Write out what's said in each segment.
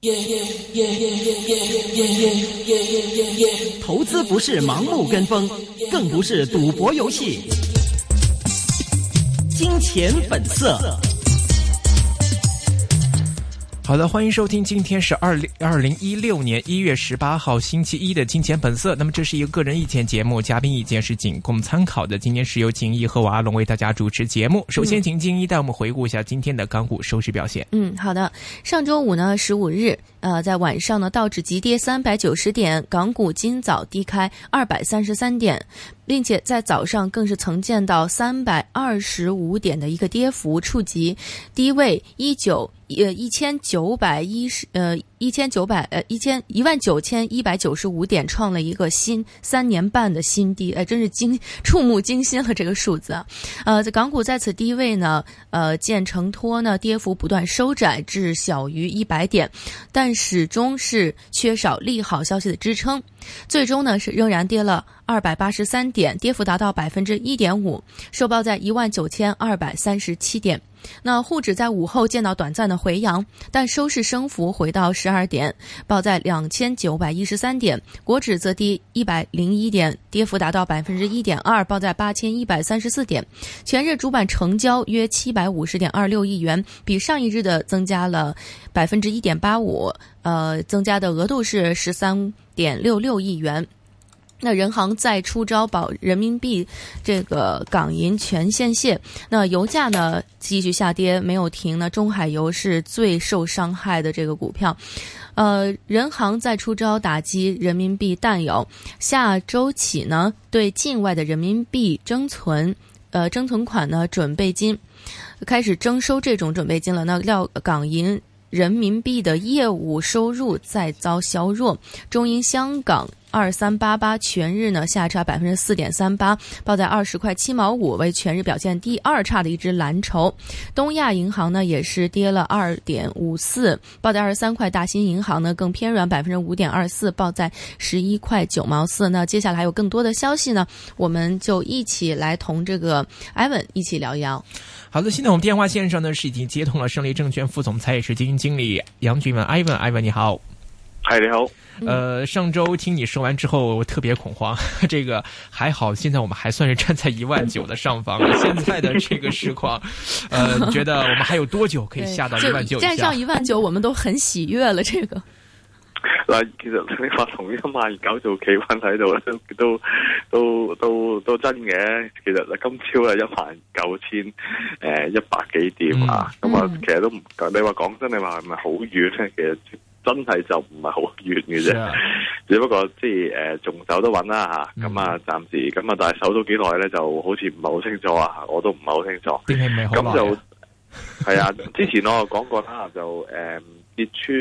投资不是盲目跟风，更不是赌博游戏。金钱本色。 好的，欢迎收听，今天是2016年1月18号星期一的金钱本色。那么这是一个个人意见节目，嘉宾意见是仅供参考的。今天是由景一和我阿龙为大家主持节目。首先请景一带我们回顾一下今天的港股收市表现。 好的，上周五呢15日在晚上呢道指急跌390点，港股今早低开233点，并且在早上更是曾见到325点的一个跌幅，触及低位19195点，创了一个3年半的新低，真是触目惊心了这个数字。在港股在此低位呢，见承托呢跌幅不断收窄至小于100点，但始终是缺少利好消息的支撑，最终呢是仍然跌了283点，跌幅达到 1.5%， 收报在19237点。那沪指在午后见到短暂的回扬，但收市升幅回到12点，报在2913点，国指则低101点，跌幅达到 1.2%， 报在8134点。全日主板成交约750.26亿元，比上一日的增加了 1.85%， 增加的额度是 13.66亿元。那人行再出招保人民币这个港银全线卸，那油价呢继续下跌没有停呢，中海油是最受伤害的这个股票。人行再出招打击人民币淡油，下周起呢对境外的人民币征存款呢准备金开始征收这种准备金了。那料港银人民币的业务收入再遭削弱，中银香港2388全日呢下差 4.38%， 报在20块7毛5，为全日表现第二差的一只蓝筹。东亚银行呢也是跌了 2.54%， 报在23块。大新银行呢更偏软 5.24%， 报在11块9毛4。那接下来还有更多的消息呢，我们就一起来同这个 Ivan 一起聊一聊。 好的，现在我们电话线上呢是已经接通了胜利证券副总裁也是基金经理杨俊文 Ivan 你好。 嗨，你好。 上周听你说完之后，我特别恐慌。这个还好，现在我们还算是站在19000的上方。现在的这个市况，你觉得我们还有多久可以下到19000以下？ 站上19000，我们都很喜悦了。这个嗱，其實你話同19000做企穩喺度都真嘅。其實今朝19100幾點啊？咁啊，其實都唔，你話講真，你話係咪好遠咧？其實真係就唔係好遠嘅啫，只不過即係仲守得穩啦嚇。咁啊，暫時咁啊，但係守到幾耐咧，就好似唔係好清楚啊。我都唔係好清楚。咁就係啊，之前我講過啦，就跌穿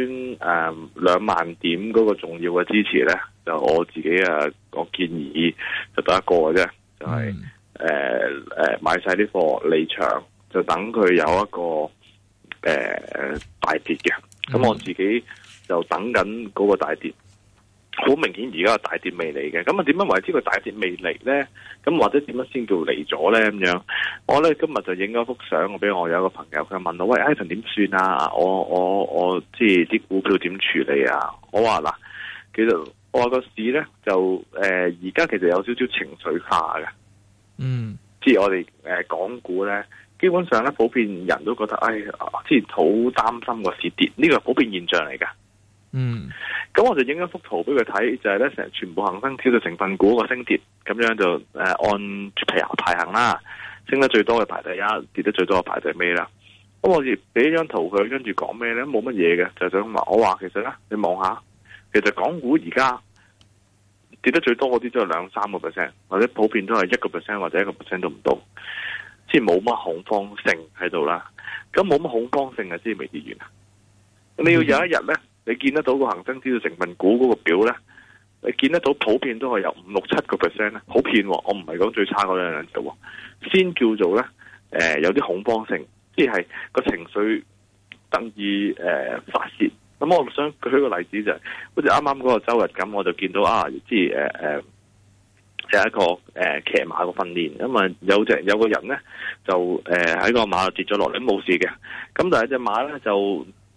20000點嗰個重要嘅支持咧，就我自己我建議就得一個嘅啫，就係買晒啲貨離場，就等佢有一個大跌嘅。咁我自己就等緊嗰個大跌，好明顯而家個大跌未嚟嘅。咁啊點樣為之個大跌未嚟咧？咁或者點樣先叫嚟咗咧？咁樣我咧今日就影咗幅相，我俾我有一個朋友，佢問我：喂 ，Ivan 點算啊？我即係啲股票點處理啊？我話嗱，其實我話個市咧就而家其實有少少情緒化嘅。即係我哋港股咧。基本上咧，普遍人都覺得，之前好擔心個市跌，呢個係普遍現象嚟㗎。咁我就影一幅圖俾佢睇，就係咧成全部恒生指數成分股個升跌，咁樣就按排行啦，升得最多嘅排第一，跌得最多嘅排第尾啦。咁我亦俾一張圖佢，跟住講咩咧？冇乜嘢嘅，就想話我話其實咧，你望下，其實港股而家跌得最多嗰啲都係2-3%，或者普遍都係1%或者1%都唔到。即係冇乜恐慌性喺度啦，咁冇乜恐慌性啊，即係未跌完啊！你要有一日咧，你見得到個恒生指數成分股嗰個表咧，你見得到普遍都係有5-6-7%咧，普遍我唔係講最差嗰兩隻，先叫做咧有啲恐慌性，即係個情緒得以發泄。咁我想舉個例子就係，好似啱啱嗰個周日咁，我就見到即係有一個騎馬嘅訓練，咁啊有個人咧就喺個馬度跌咗落嚟，冇事嘅。咁但係隻馬咧就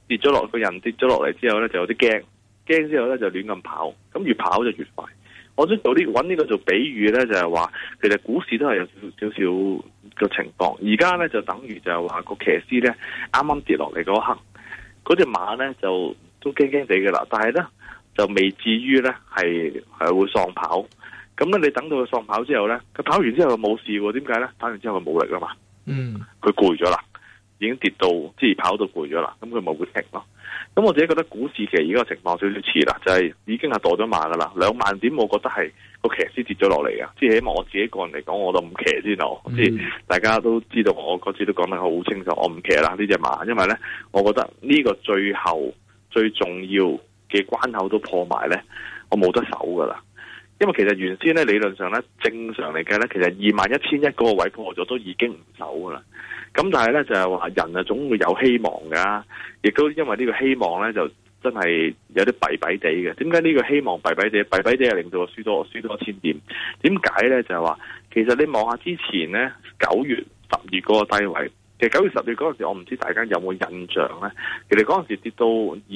跌咗落個人跌咗落嚟之後咧，就有啲驚之後咧就亂咁跑，咁越跑就越快。我想揾呢個做比喻咧，就係話其實股市都係有少少嘅情況。而家咧就等於就係話個騎師咧啱啱跌落嚟嗰刻，嗰隻馬咧就都驚驚地嘅啦，但係咧就未至於咧係會喪跑。咁咧你等到佢喪跑之後咧，佢跑完之後冇事喎，點解咧？跑完之後佢冇力啦嘛，佢攰咗啦，已經跌到即係跑到攰咗啦，咁佢冇會停咯。咁我自己覺得股市其實而家個情況少少似啦，就係已經係墮咗馬噶啦，2萬點我覺得係個騎師跌咗落嚟嘅，即係起碼我自己個人嚟講，我都唔騎先咯。即係大家都知道，我嗰次都講得好清楚，我唔騎啦呢隻馬，因為咧，我覺得呢個最後最重要嘅關口都破埋咧，我冇得守噶啦。因為其實原先咧理論上咧正常嚟計咧，其實21,100嗰個位破咗都已經唔守噶啦。咁但係咧就係話人啊總會有希望噶，亦都因為呢個希望咧就真係有啲弊弊地嘅。點解呢個希望弊弊地係令到我輸多1000點？點解咧就係話其實你望下之前咧9月、10月嗰個低位，其實9月、10月嗰陣時我唔知大家有冇印象咧？其實嗰陣時跌到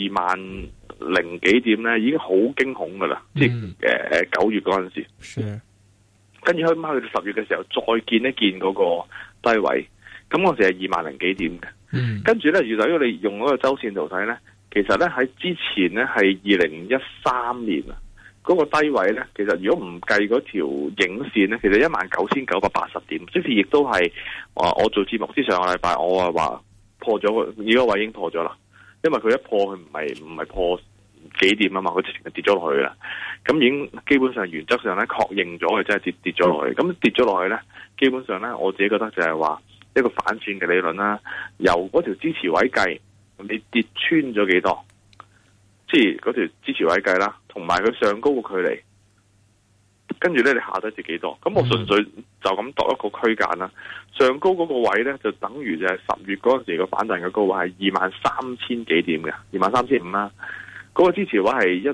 20000幾點咧，已經好驚恐噶啦！即係9月嗰陣時，跟住去到10月嘅時候再見一見嗰個低位。咁嗰時係20000幾點嘅，跟住咧，如果你用嗰個周線圖睇咧，其實咧喺之前咧係2013年啊，嗰個低位咧，其實如果唔計嗰條影線咧，其實19980點，即係亦都係我做節目之上個禮拜，我話破咗個呢個位已經破咗啦，因為佢一破佢唔係破幾點啊嘛，佢直情係跌咗落去啦，咁已經基本上原則上咧確認咗佢真係跌咗落去，咁跌咗落去咧，基本上咧我自己覺得就係話。一個反轉嘅理論啦，由嗰條支持位計，你跌穿咗幾多？即係嗰條支持位計啦，同埋佢上高個距離，跟住咧你下低跌幾多？咁我純粹就咁度一個區間啦。上高嗰個位咧，就等於就係10月嗰陣時個反彈嘅高位係23000幾點嘅，23500啦。嗰個支持位係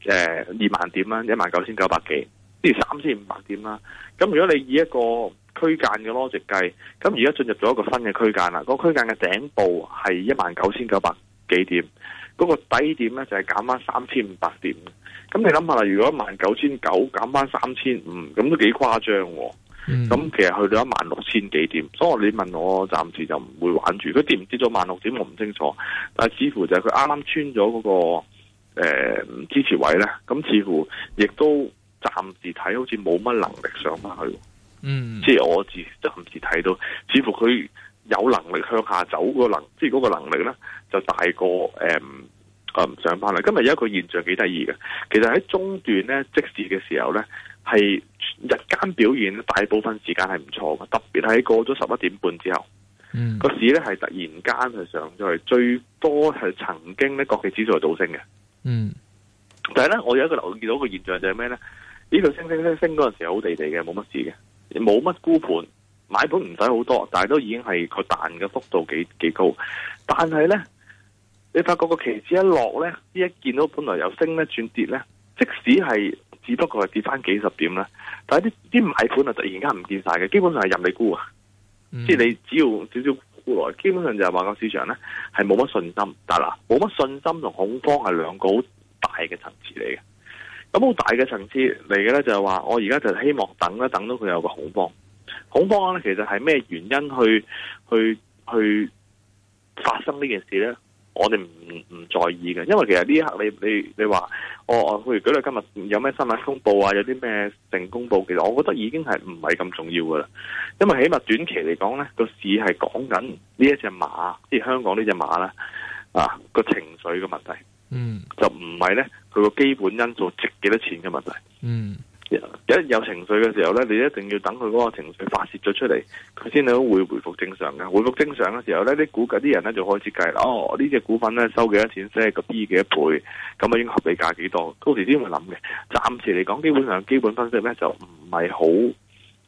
2萬點啦，19900幾，即係3500點啦。咁如果你以一個區間嘅邏輯計，咁而家進入咗一個新嘅區間啦。個區間嘅頂部係19900幾點，嗰個底點咧就係減翻3500點。咁你諗下啦，如果19900減翻3500，咁都幾誇張喎。咁其實去到16000幾點，所以你問我暫時就唔會玩住。佢跌唔跌咗16000點我唔清楚，但係似乎就係佢啱啱穿咗嗰個支持位咧，咁似乎亦都暫時睇好似冇乜能力上翻去。即係我暫時睇到，似乎佢有能力向下走即係嗰個能力咧，就大過上翻嚟。今日有一個現象幾得意嘅，其實喺中段咧即時嘅時候咧，係日間表現大部分時間係唔錯嘅，特別係過咗11點半之後，個市咧係突然間係上咗去，最多係曾經咧國企指數係倒升嘅。但係咧，我有一個留意到個現象就係咩咧？呢度升嗰陣時好地地嘅，冇乜事嘅。冇乜沽盤，買盤唔使好多，但係都已經係佢彈嘅幅度幾高。但係咧，你發覺個期指一落咧，呢一見到本來由升咧轉跌咧，即使係只不過係跌翻幾十點啦，但係啲買盤啊突然間唔見晒嘅，基本上係任你沽啊。即係你只要少少沽來，基本上就係話個市場咧係冇乜信心。但係嗱，冇乜信心同恐慌係兩個好大嘅層次嚟嘅。咁好大嘅層次嚟嘅咧，就係話我而家就希望等到佢有個恐慌。恐慌咧，其實係咩原因去發生呢件事咧？我哋唔在意嘅，因為其實呢一刻你話譬如舉例今日有咩新聞公佈啊，有啲咩性公佈，其實我覺得已經係唔係咁重要噶啦。因為起碼短期嚟講咧，個市係講緊呢一隻馬，即係香港呢隻馬咧個情緒嘅問題。就唔係咧，佢個基本因素值幾多錢嘅問題。一有情緒嘅時候咧，你一定要等佢嗰個情緒發泄咗出嚟，佢先會回復正常嘅。回復正常嘅時候咧，啲人咧就開始計啦。呢隻股份咧收幾多錢，即係個 B 幾多倍，咁啊應該合理價幾多？到時先會諗嘅。暫時嚟講，基本上基本分析咧就唔係好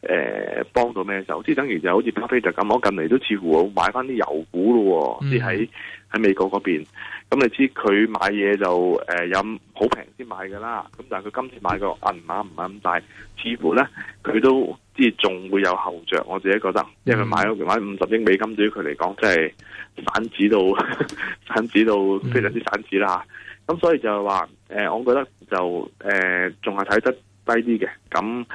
幫到咩手？即係等於就好似巴菲特咁，我近嚟都似乎買翻啲油股咯，即係喺美國嗰邊。咁你知佢買嘢就有好平先買噶啦。咁但係佢今次買個銀碼唔係咁大，似乎咧佢都即係仲會有後着。我自己覺得，因為佢買50億美金，對於佢嚟講，即係散紙到非常之散紙啦。咁所以就係話我覺得就仲係睇得低啲嘅。咁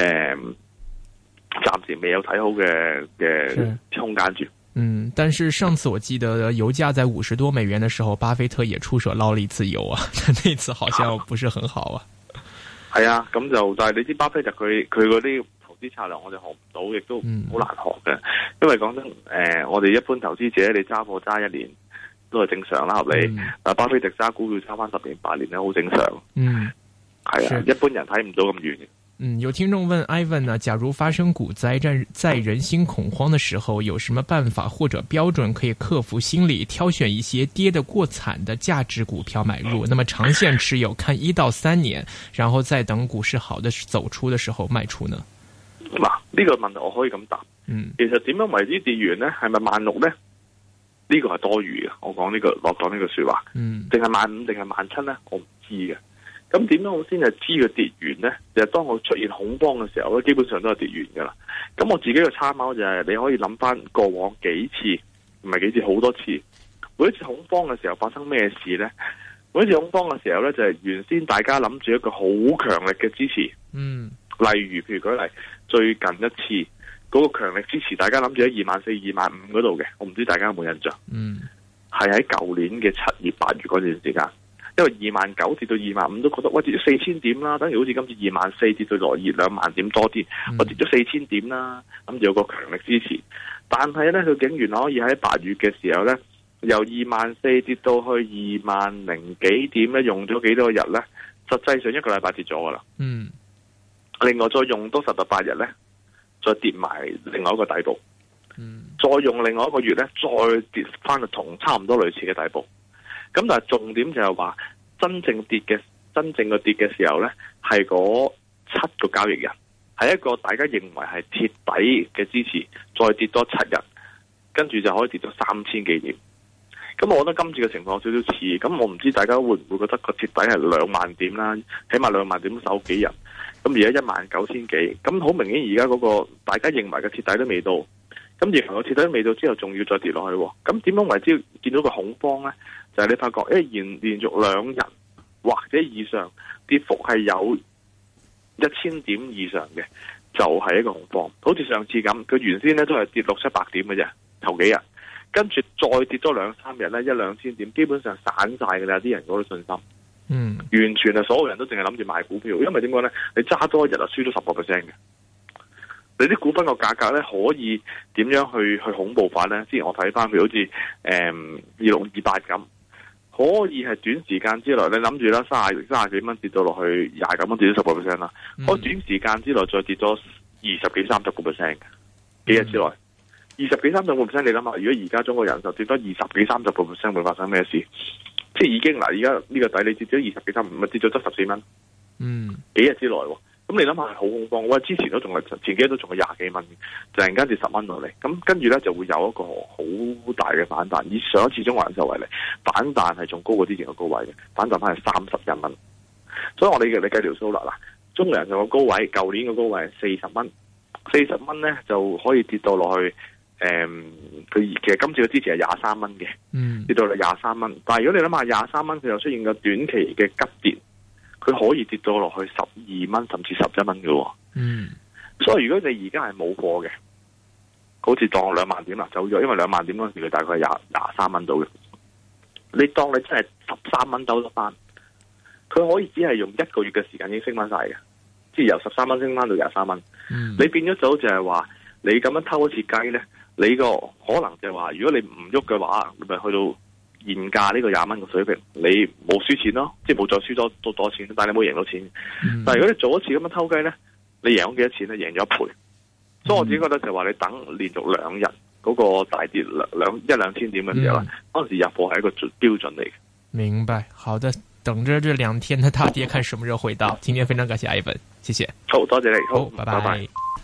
暫時未有睇好嘅空間住。 但是上次我記得油價在50多美元的時候，巴菲特也出手撈了一次油啊，那次好像不是很好啊。 係啊，咁就但係你知巴菲特佢嗰啲投資策略我哋學唔到，亦都好難學嘅。因為講真，我哋一般投資者你揸貨揸1年都係正常啦，合理。但巴菲特揸股票揸翻10年8年咧，好正常。係啊，一般人睇唔到咁遠嘅。 有聽眾問 Ivan 呢，假如發生股災在人心恐慌的時候，有什麼辦法或者標準可以克服心理，挑選一些跌得過慘的價值股票買入？那麼長線持有，看1到3年，然後再等股市好的走出的時候賣出呢？ 嗱，呢個問題我可以咁答。其實點樣為之跌完呢？係咪16000呢？呢個係多餘嘅。我講呢個說話，定係15000定係17000呢？我唔知嘅。咁點樣我先係知佢跌完呢？就係當我出現恐慌嘅時候咧，基本上都係跌完噶啦。咁我自己嘅參考就係你可以諗翻過往幾次，唔係幾次，好多次。每一次恐慌嘅時候發生咩事呢？每一次恐慌嘅時候呢，就係原先大家諗住一個好強力嘅支持。例如譬如舉例，最近一次嗰個強力支持，大家諗住喺24000、25000嗰度嘅，我唔知大家有冇印象？係喺舊年嘅7月、8月嗰段時間。因為29000跌到25000都覺得喂，跌咗4000點啦，等於好似今次24000跌到落20000點多啲，我跌咗4000點啦，咁就有個強力支持。但係咧，佢竟然可以喺8月嘅時候咧，由24000跌到去20000幾點咧，用咗幾多日咧？實際上1個禮拜跌咗噶啦。另外再用多10到8日咧，再跌埋另外一個底部。再用另外一個月咧，再跌翻去同差唔多類似嘅底部。咁但係重點就係話，真正跌嘅時候咧，係嗰7個交易日，係一個大家認為係貼底嘅支持，再跌多7日，跟住就可以跌到3000幾點。咁我覺得今次嘅情況有少少似，咁我唔知大家會唔會覺得個貼底係20000點啦，起碼20000點守幾日。咁而家19000幾，咁好明顯而家嗰個大家認為嘅貼底都未到。咁而個貼底未到之後，仲要再跌落去。咁點樣為之見到個恐慌咧？就係你發覺，連續2日或者以上跌幅係有1000點以上嘅，就係一個恐慌。好似上次咁，佢原先咧都係跌600-700點嘅啫，頭幾日，跟住再跌多2-3日咧，1-2000點，基本上散晒㗎啦，啲人嗰啲信心。完全係所有人都淨係諗住買股票，因為點講咧？你揸多一日就輸咗10%嘅。你啲股份個價格咧可以點樣去恐怖化咧？之前我睇翻，譬如好似2628咁，可以係短時間之內，你諗住啦，30幾蚊跌到落去29蚊，跌咗10%啦。可以短時間之內再跌咗20幾30%嘅，幾日之內20幾30%，你諗下，如果而家中國人壽跌咗20幾30%，會發生咩事？即係已經嗱，而家呢個底你跌咗20幾30，咪跌咗14蚊。幾日之內喎。咁你諗下係好恐慌，我之前都仲係前幾日都仲係20幾蚊，突然間跌10蚊落嚟，咁跟住咧就會有一個好大嘅反彈。以上一次中國人壽為例，反彈係仲高過之前嘅高位嘅，反彈翻係31蚊。所以我哋你計條數啦，嗱，中國人壽嘅高位，舊年嘅高位係40蚊，40蚊咧就可以跌到落去，佢其實今次嘅支持係23蚊嘅，跌到嚟23蚊。但係如果你諗下23蚊，佢又出現個短期嘅急跌。佢可以跌到落去12蚊，甚至11蚊嘅。所以如果你而家係冇貨嘅，好似當20000點啦走咗，因為20000點嗰時佢大概係23蚊到嘅。你當你真係13蚊兜得翻，佢可以只係用1個月嘅時間已經升翻晒嘅，即係由13蚊升翻到23蚊。你變咗就係話，你咁樣偷一次雞咧，你個可能就係話，如果你唔喐嘅話，你咪去到現價呢個20蚊嘅水平，你冇輸錢咯，即係冇再輸多錢，但係你冇贏到錢。但係如果你做一次咁樣偷雞咧，你贏咗幾多錢咧？贏咗1倍。所以我自己覺得就係話，你等連續2日嗰個大跌1-2000點嘅時候，嗰陣時入貨係一個標準嚟嘅。 明白，好的，等着這2天的大跌，看什麼時候回到。今天非常感謝Ivan，謝謝。 好多謝你，好， 拜拜。